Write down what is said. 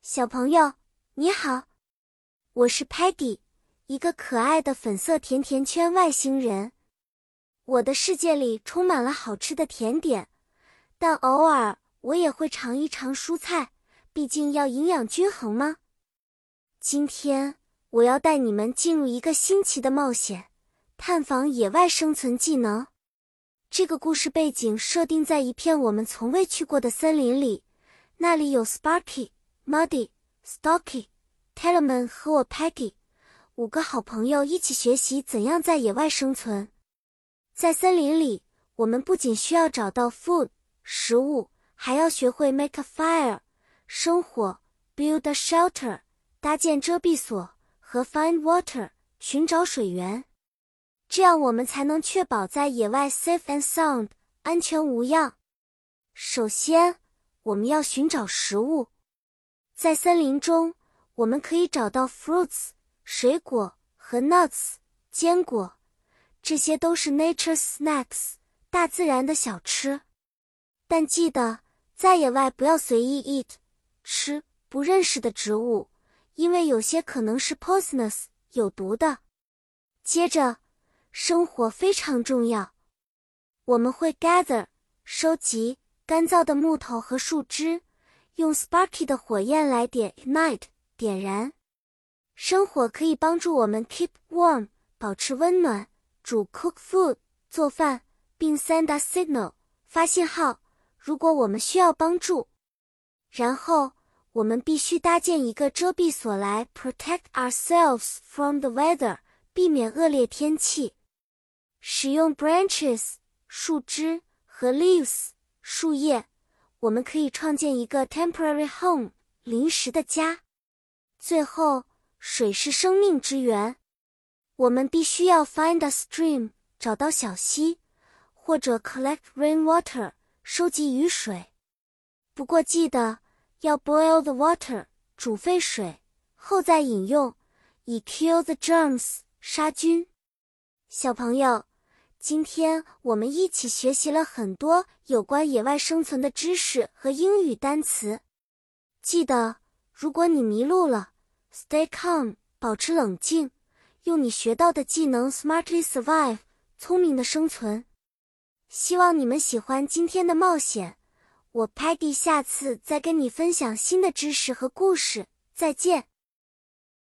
小朋友，你好，我是 Peggy， 一个可爱的粉色甜甜圈外星人。我的世界里充满了好吃的甜点，但偶尔我也会尝一尝蔬菜，毕竟要营养均衡嘛。今天我要带你们进入一个新奇的冒险，探访野外生存技能。这个故事背景设定在一片我们从未去过的森林里，那里有 Sparky、Muddy、Stocky、Tellerman 和我 Peggy， 5个好朋友一起学习怎样在野外生存。在森林里，我们不仅需要找到 food 食物，还要学会 make a fire 生火， build a shelter 搭建遮蔽所，和 find water 寻找水源。这样我们才能确保在野外 safe and sound 安全无恙。首先，我们要寻找食物。在森林中，我们可以找到 fruits 水果和 nuts 坚果，这些都是 nature's snacks 大自然的小吃。但记得，在野外不要随意 eat 吃不认识的植物，因为有些可能是 poisonous 有毒的。接着，生火非常重要。我们会 gather 收集干燥的木头和树枝，用 Sparky 的火焰来点 ignite 点燃。生火可以帮助我们 keep warm 保持温暖，煮 cook food 做饭，并 send a signal 发信号，如果我们需要帮助。然后，我们必须搭建一个遮蔽所来 protect ourselves from the weather 避免恶劣天气。使用 branches 树枝和 leaves 树叶，我们可以创建一个 temporary home 临时的家。最后，水是生命之源，我们必须要 find a stream 找到小溪，或者 collect rainwater 收集雨水。不过记得要 boil the water 煮沸水，后再饮用，以 kill the germs 杀菌。小朋友，今天我们一起学习了很多有关野外生存的知识和英语单词。记得，如果你迷路了 ，stay calm 保持冷静，用你学到的技能 smartly survive 聪明的生存。希望你们喜欢今天的冒险，我 Peggy 下次再跟你分享新的知识和故事，再见。